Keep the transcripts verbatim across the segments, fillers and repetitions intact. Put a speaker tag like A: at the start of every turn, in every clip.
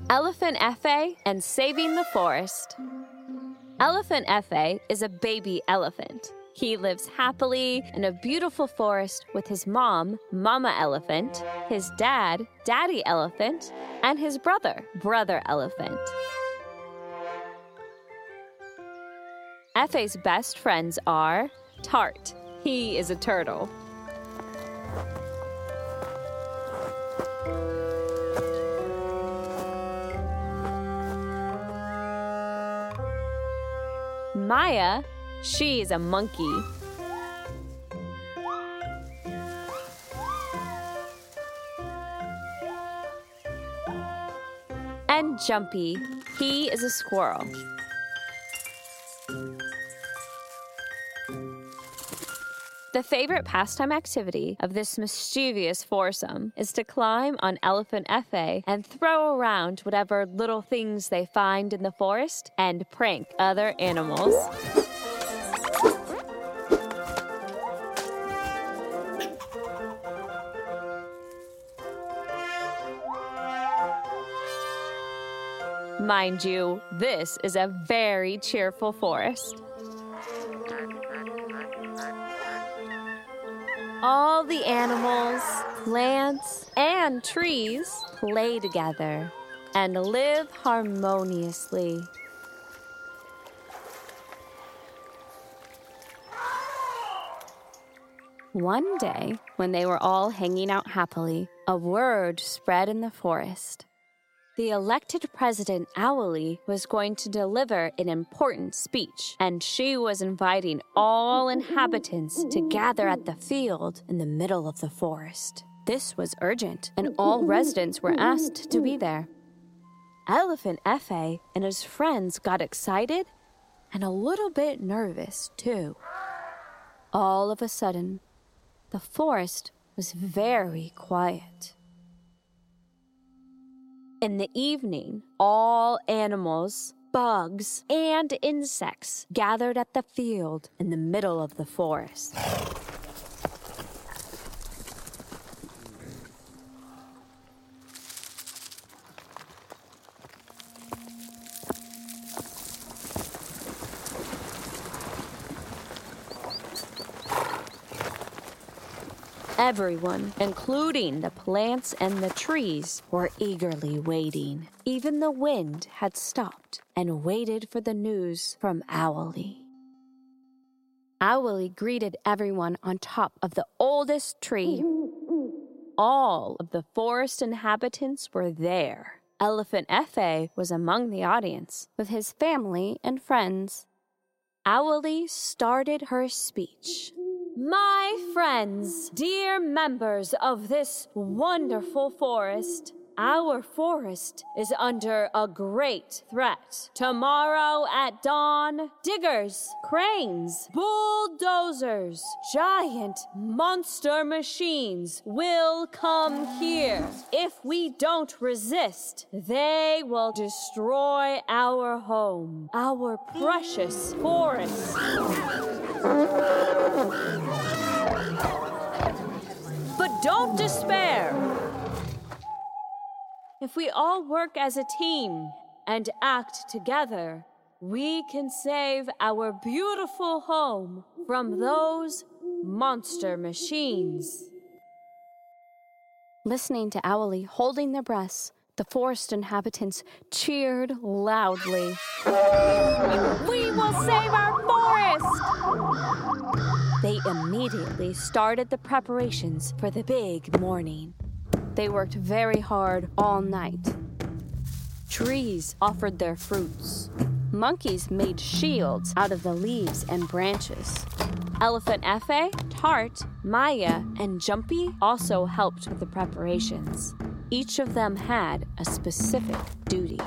A: Elephant Efe and Saving the Forest. Elephant Efe is a baby elephant. He lives happily in a beautiful forest with his mom, Mama Elephant, his dad, Daddy Elephant, and his brother, Brother Elephant. Efe's best friends are Tart. He is a turtle. Maya, she is a monkey. And Jumpy, he is a squirrel. The favorite pastime activity of this mischievous foursome is to climb on Elephant Efe and throw around whatever little things they find in the forest and prank other animals. Mind you, this is a very cheerful forest. All the animals, plants, and trees play together and live harmoniously. One day, when they were all hanging out happily, a word spread in the forest. The elected president, Owly, was going to deliver an important speech, and she was inviting all inhabitants to gather at the field in the middle of the forest. This was urgent, and all residents were asked to be there. Elephant Efe and his friends got excited and a little bit nervous, too. All of a sudden, the forest was very quiet. In the evening, all animals, bugs, and insects gathered at the field in the middle of the forest. Everyone, including the plants and the trees, were eagerly waiting. Even the wind had stopped and waited for the news from Owly. Owly greeted everyone on top of the oldest tree. All of the forest inhabitants were there. Elephant Efe was among the audience with his family and friends. Owly started her speech. My friends, dear members of this wonderful forest, our forest is under a great threat. Tomorrow at dawn, diggers, cranes, bulldozers, giant monster machines will come here. If we don't resist, they will destroy our home, our precious forest. But don't despair. If we all work as a team and act together, we can save our beautiful home from those monster machines. Listening to Owly holding their breaths, the forest inhabitants cheered loudly. We will save our forest! They immediately started the preparations for the big morning. They worked very hard all night. Trees offered their fruits. Monkeys made shields out of the leaves and branches. Elephant Efe, Tart, Maya, and Jumpy also helped with the preparations. Each of them had a specific duty.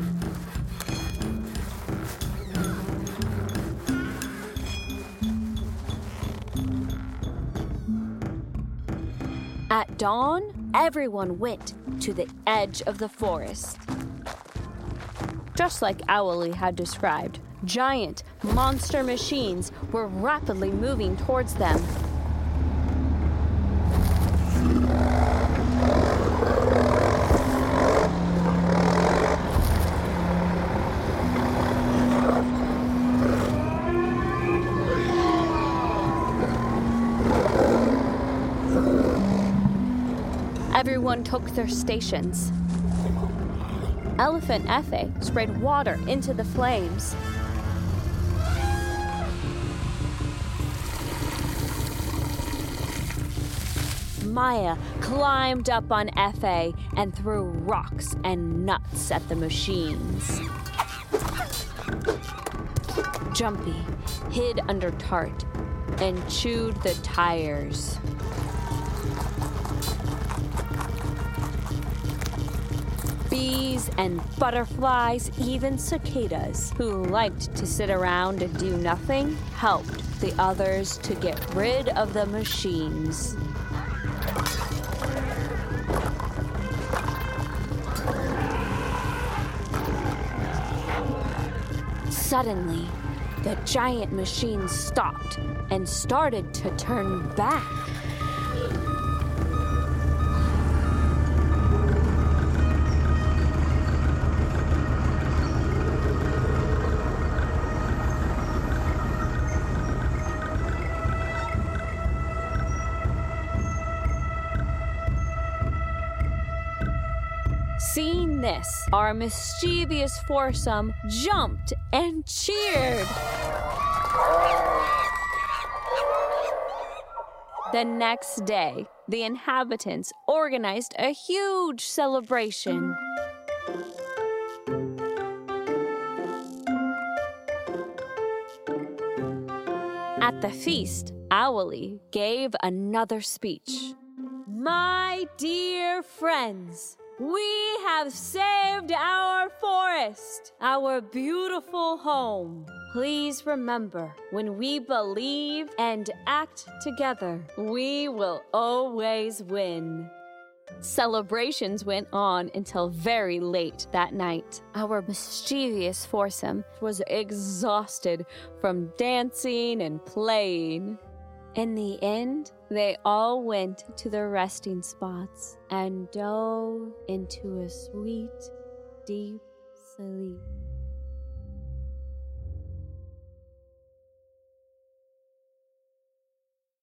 A: At dawn, everyone went to the edge of the forest. Just like Owly had described, giant monster machines were rapidly moving towards them. Everyone took their stations. Elephant Efe sprayed water into the flames. Maya climbed up on Efe and threw rocks and nuts at the machines. Jumpy hid under Tart and chewed the tires. Bees and butterflies, even cicadas, who liked to sit around and do nothing, helped the others to get rid of the machines. Suddenly, the giant machine stopped and started to turn back. Seeing this, our mischievous foursome jumped and cheered. The next day, the inhabitants organized a huge celebration. At the feast, Owly gave another speech. My dear friends, we have saved our forest, our beautiful home. Please remember, when we believe and act together, we will always win. Celebrations went on until very late that night. Our mischievous foursome was exhausted from dancing and playing. In the end, they all went to their resting spots and dove into a sweet, deep sleep.